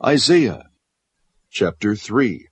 Isaiah chapter 3.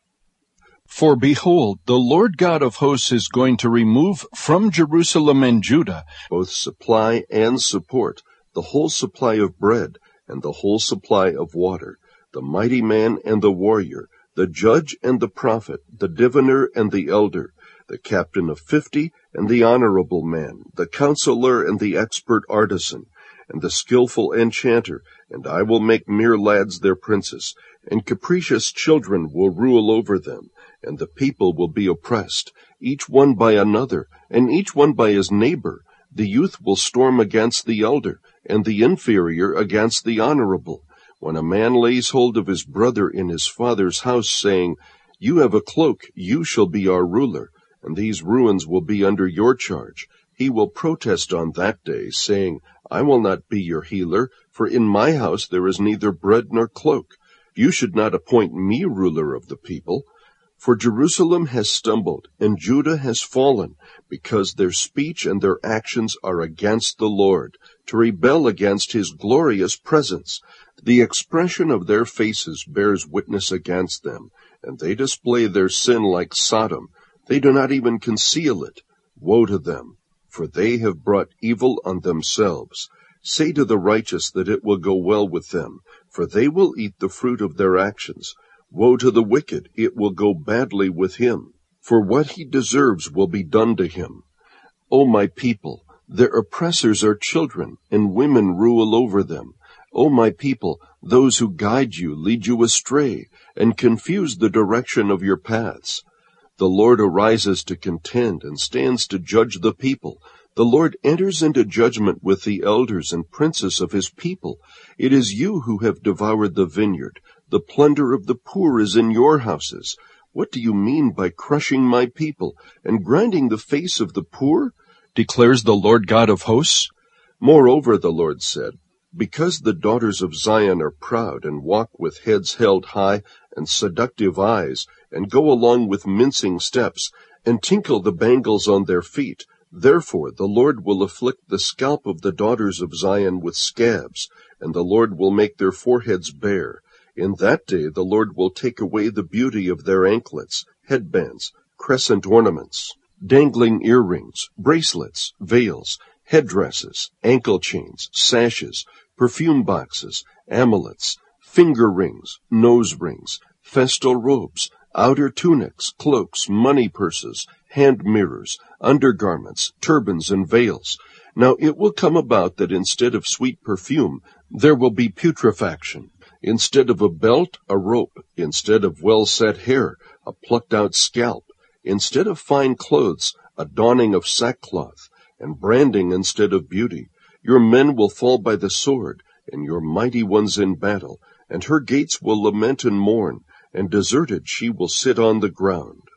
For behold, the Lord God of hosts is going to remove from Jerusalem and Judah both supply and support, the whole supply of bread and the whole supply of water, the mighty man and the warrior, the judge and the prophet, the diviner and the elder, the captain of 50 and the honorable man, the counselor and the expert artisan, and the skillful enchanter, and I will make mere lads their princes, and capricious children will rule over them, and the people will be oppressed, each one by another, and each one by his neighbor. The youth will storm against the elder, and the inferior against the honorable. When a man lays hold of his brother in his father's house, saying, You have a cloak, you shall be our ruler, and these ruins will be under your charge, he will protest on that day, saying, I will not be your healer, for in my house there is neither bread nor cloak. You should not appoint me ruler of the people. For Jerusalem has stumbled, and Judah has fallen, because their speech and their actions are against the Lord, to rebel against his glorious presence. The expression of their faces bears witness against them, and they display their sin like Sodom. They do not even conceal it. Woe to them, for they have brought evil on themselves. Say to the righteous that it will go well with them, for they will eat the fruit of their actions. Woe to the wicked, it will go badly with him, for what he deserves will be done to him. O my people, their oppressors are children, and women rule over them. O my people, those who guide you lead you astray, and confuse the direction of your paths. The Lord arises to contend, and stands to judge the people. The Lord enters into judgment with the elders and princes of his people. It is you who have devoured the vineyard. The plunder of the poor is in your houses. What do you mean by crushing my people and grinding the face of the poor? Declares the Lord God of hosts. Moreover, the Lord said, Because the daughters of Zion are proud and walk with heads held high and seductive eyes, and go along with mincing steps, and tinkle the bangles on their feet, therefore the Lord will afflict the scalp of the daughters of Zion with scabs, and the Lord will make their foreheads bare. In that day the Lord will take away the beauty of their anklets, headbands, crescent ornaments, dangling earrings, bracelets, veils, headdresses, ankle chains, sashes, perfume boxes, amulets, finger rings, nose rings, festal robes, outer tunics, cloaks, money purses, hand mirrors, undergarments, turbans, and veils. Now it will come about that instead of sweet perfume, there will be putrefaction. Instead of a belt, a rope. Instead of well-set hair, a plucked-out scalp. Instead of fine clothes, a donning of sackcloth, and branding instead of beauty. Your men will fall by the sword, and your mighty ones in battle, and her gates will lament and mourn, and deserted she will sit on the ground.